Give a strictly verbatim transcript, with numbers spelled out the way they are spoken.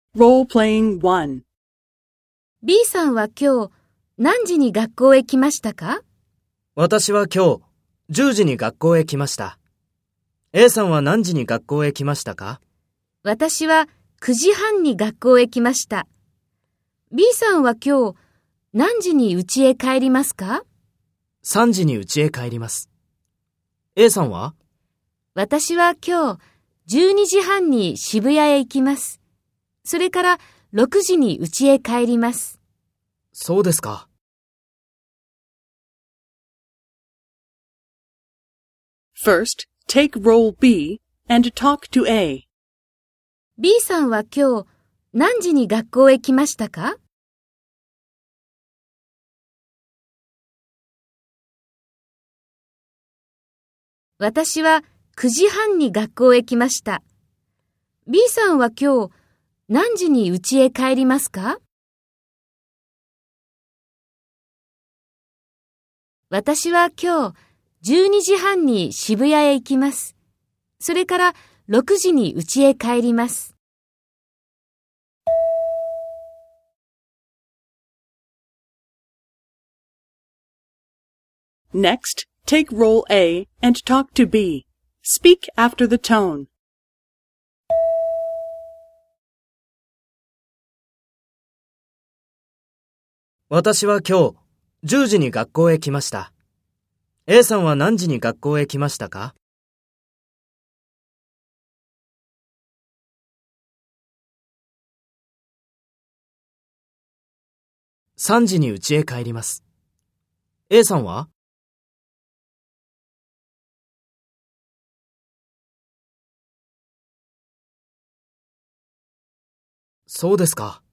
Role-playing one. B さんは今日何時に学校へ来ましたか？ 私は今日じゅうじに学校へ来ました。A さんは何時に学校へ来ましたか？ 私はくじはんに学校へ来ました。B さんは今日何時に家へ帰りますか？ さんじに家へ帰ります。A さんは？ 私は今日じゅうにじはんに渋谷へ行きます。それからろくじに家へ帰ります。 そうですか。 First, take role B and talk to A. B さんは今日何時に学校へ来ましたか？私はくじはんに学校へ来ました。B さんは今日何時に家へ帰りますか？私は今日じゅうにじはんに渋谷へ行きます。それからろくじに家へ帰ります。 Next, take role A and talk to B. Speak after the tone. 私は今日じゅうじに学校へ来ました。A さんは何時に学校へ来ましたか？さんじに家へ帰ります。A さんは？そうですか。